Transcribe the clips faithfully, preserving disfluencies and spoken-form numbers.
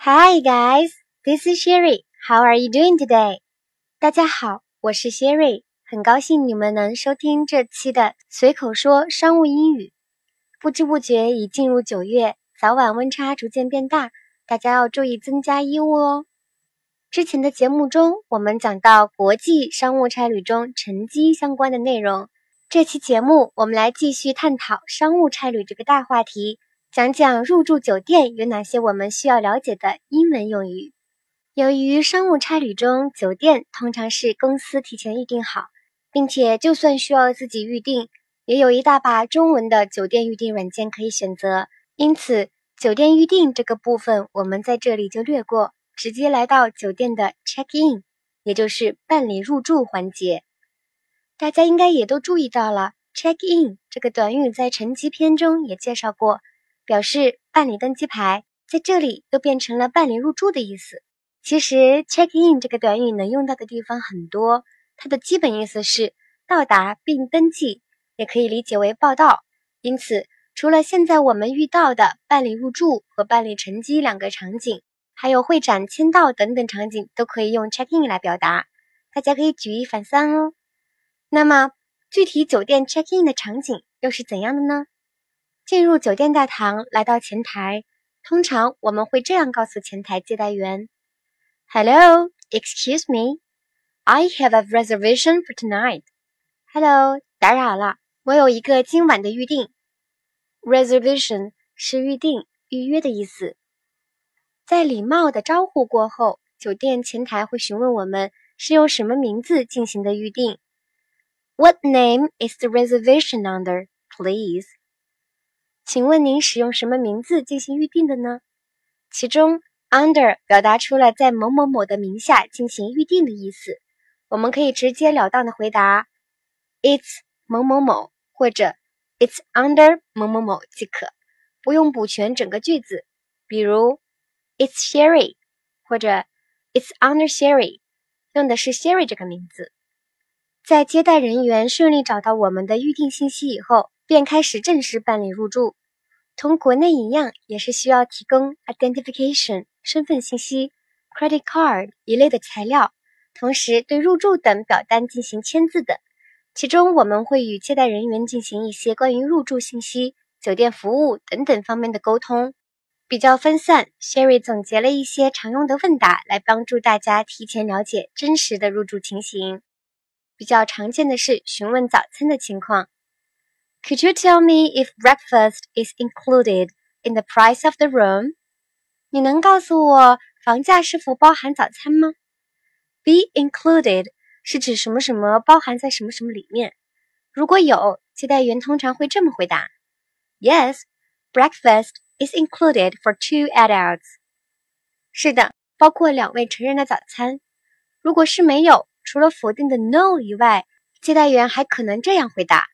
Hi guys, this is Sherry. How are you doing today? 大家好，我是 Sherry， 很高兴你们能收听这期的随口说商务英语。不知不觉已进入九月，早晚温差逐渐变大，大家要注意增加衣物哦。之前的节目中，我们讲到国际商务差旅中乘机相关的内容。这期节目我们来继续探讨商务差旅这个大话题，讲讲入住酒店有哪些我们需要了解的英文用语。由于商务差旅中酒店通常是公司提前预订好，并且就算需要自己预订，也有一大把中文的酒店预订软件可以选择。因此酒店预订这个部分我们在这里就略过，直接来到酒店的 check in， 也就是办理入住环节。大家应该也都注意到了 check in 这个短语在乘机篇中也介绍过，表示办理登机牌，在这里又变成了办理入住的意思。其实 check in 这个短语能用到的地方很多，它的基本意思是到达并登记，也可以理解为报到。因此除了现在我们遇到的办理入住和办理乘机两个场景，还有会展签到等等场景都可以用 check in 来表达，大家可以举一反三哦。那么具体酒店 check in 的场景又是怎样的呢？进入酒店大堂，来到前台，通常我们会这样告诉前台接待员 Hello, excuse me, I have a reservation for tonight. Hello, 打扰了，我有一个今晚的预订。 Reservation 是预订、预约的意思。在礼貌的招呼过后，酒店前台会询问我们是用什么名字进行的预订。What name is the reservation under, please? 请问您使用什么名字进行预订的呢？其中 under 表达出了在某某某的名下进行预订的意思，我们可以直截了当的回答 It's 某某某或者 It's under 某某某即可，不用补全整个句子。比如 It's Sherry 或者 It's under Sherry， 用的是 Sherry 这个名字。在接待人员顺利找到我们的预订信息以后，便开始正式办理入住。同国内一样，也是需要提供 identification 身份信息、credit card 一类的材料，同时对入住等表单进行签字的。其中我们会与接待人员进行一些关于入住信息、酒店服务等等方面的沟通。比较分散， Sherry 总结了一些常用的问答来帮助大家提前了解真实的入住情形。比较常见的是询问早餐的情况。 Could you tell me if breakfast is included in the price of the room? 你能告诉我房价是否包含早餐吗？ Be included 是指什么什么包含在什么什么里面。如果有，接待员通常会这么回答 Yes, breakfast is included for two adults. 是的，包括两位成人的早餐。如果是没有，除了否定的 no 以外，接待员还可能这样回答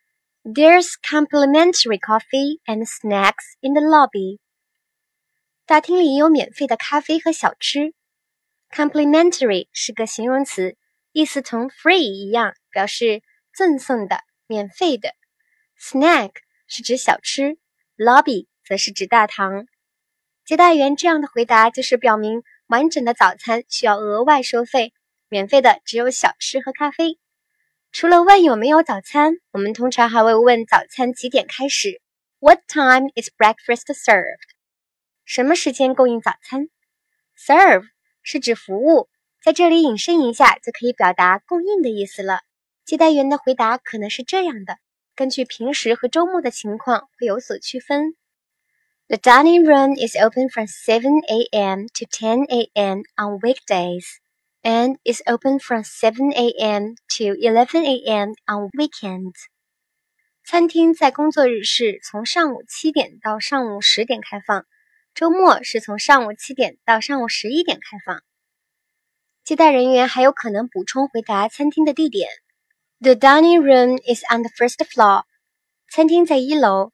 There's complimentary coffee and snacks in the lobby. 大厅里有免费的咖啡和小吃。 Complimentary 是个形容词，意思同 free 一样，表示赠送的、免费的。 Snack 是指小吃， lobby 则是指大堂。接待员这样的回答就是表明完整的早餐需要额外收费，免费的只有小吃和咖啡。除了问有没有早餐，我们通常还会问早餐几点开始。 What time is breakfast served? 什么时间供应早餐？ Serve 是指服务，在这里引申一下就可以表达供应的意思了。接待员的回答可能是这样的，根据平时和周末的情况会有所区分。The dining room is open from seven a.m. to ten a.m. on weekdays, and is open from seven a.m. to eleven a.m. on weekends. 餐厅在工作日是从上午七点到上午十点开放，周末是从上午七点到上午十一点开放。接待人员还有可能补充回答餐厅的地点。The dining room is on the first floor. 餐厅在一楼。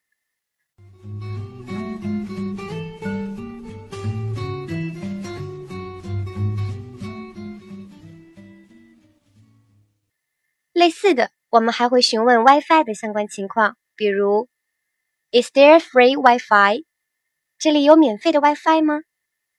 类似的，我们还会询问 Wi-Fi 的相关情况，比如 Is there free Wi-Fi? 这里有免费的 Wi-Fi 吗？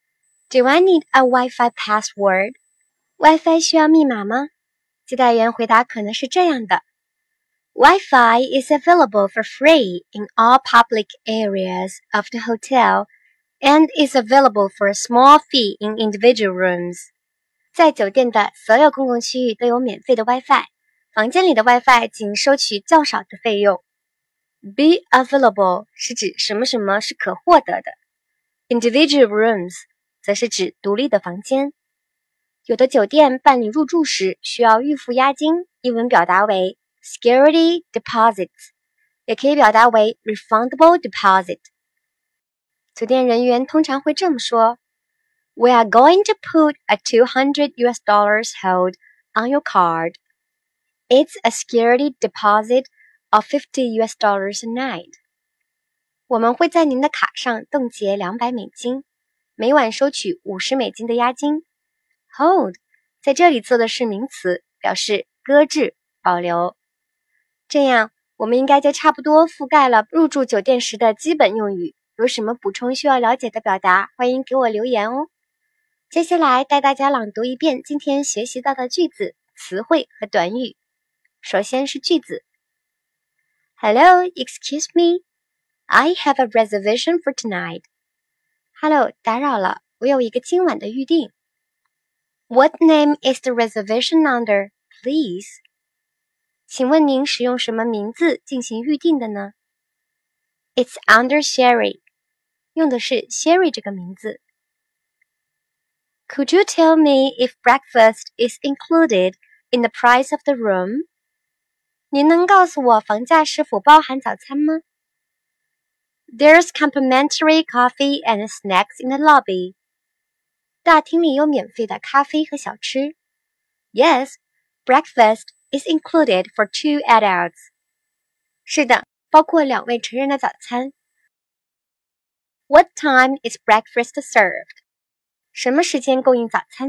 Do I need a Wi-Fi password? Wi-Fi 需要密码吗？接待员回答可能是这样的。Wi-Fi is available for free in all public areas of the hotel and is available for a small fee in individual rooms. 在酒店的所有公共区域都有免费的 Wi-Fi， 房间里的 Wi-Fi 仅收取较少的费用。Be available 是指什么什么是可获得的。Individual rooms 则是指独立的房间。有的酒店办理入住时需要预付押金，英文表达为 security deposits， 也可以表达为 refundable deposit。酒店人员通常会这么说 We are going to put a two hundred U S dollars hold on your card. It's a security deposit of fifty U S dollars a night. 我们会在您的卡上冻结两百美金，每晚收取五十美金的押金。Hold 在这里做的是名词，表示搁置、保留。这样，我们应该就差不多覆盖了入住酒店时的基本用语。有什么补充需要了解的表达，欢迎给我留言哦。接下来带大家朗读一遍今天学习到的句子、词汇和短语。首先是句子 Hello, excuse me. I have a reservation for tonight. Hello, 打扰了，我有一个今晚的预订。What name is the reservation under, please? 请问您使用什么名字进行预订的呢？ It's under Sherry. 用的是 Sherry 这个名字。Could you tell me if breakfast is included in the price of the room? 您能告诉我房价是否包含早餐吗？ There's complimentary coffee and snacks in the lobby. 大厅里有免费的咖啡和小吃。Yes, breakfast is included for two adults. 是的，包括两位成人的早餐。What time is breakfast served? 什么时间供应早餐？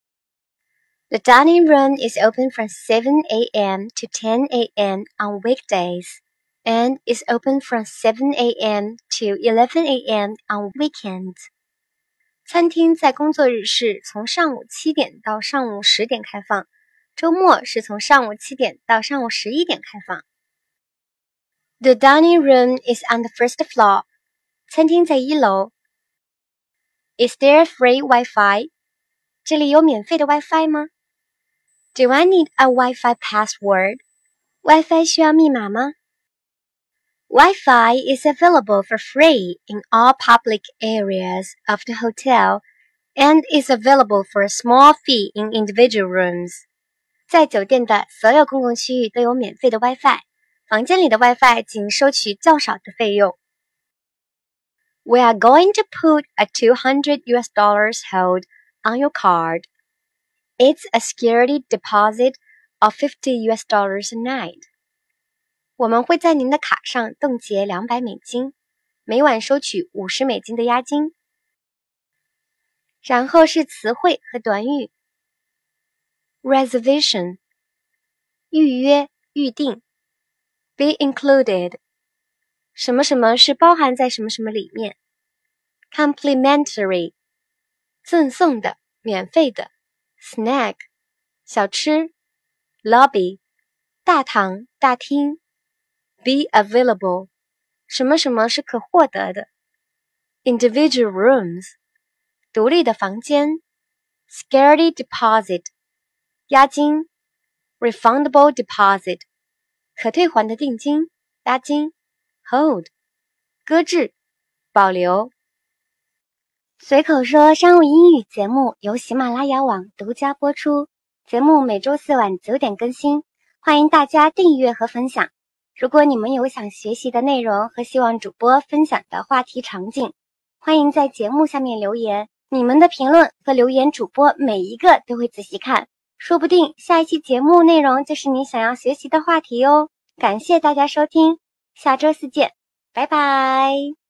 The dining room is open from seven A M to ten A M on weekdays and is open from seven A M to eleven A M on weekends. 餐厅在工作日是从上午七点到上午十点开放，周末是从上午七点到上午十一点开放。The dining room is on the first floor. 餐厅在一楼。Is there free Wi-Fi? 这里有免费的 Wi-Fi 吗？ Do I need a Wi-Fi password? Wi-Fi 需要密码吗？ Wi-Fi is available for free in all public areas of the hotel and is available for a small fee in individual rooms. 在酒店的所有公共区域都有免费的 Wi-Fi， 房间里的 Wi-Fi 仅收取较少的费用。We are going to put a two hundred U S dollars hold on your card. It's a security deposit of fifty U S dollars a night. 我们会在您的卡上冻结两百美金，每晚收取五十美金的押金。然后是词汇和短语。Reservation 预约、预订。Be included 什么什么是包含在什么什么里面。Complimentary 赠送的、免费的。Snack 小吃。Lobby 大堂、大厅。Be available 什么什么是可获得的。Individual rooms 独立的房间。Security deposit 押金。Refundable deposit 可退还的定金、押金。Hold 搁置、保留。随口说商务英语节目由喜马拉雅网独家播出，节目每周四晚九点更新，欢迎大家订阅和分享。如果你们有想学习的内容和希望主播分享的话题场景，欢迎在节目下面留言，你们的评论和留言主播每一个都会仔细看，说不定下一期节目内容就是你想要学习的话题哦。感谢大家收听，下周四见，拜拜。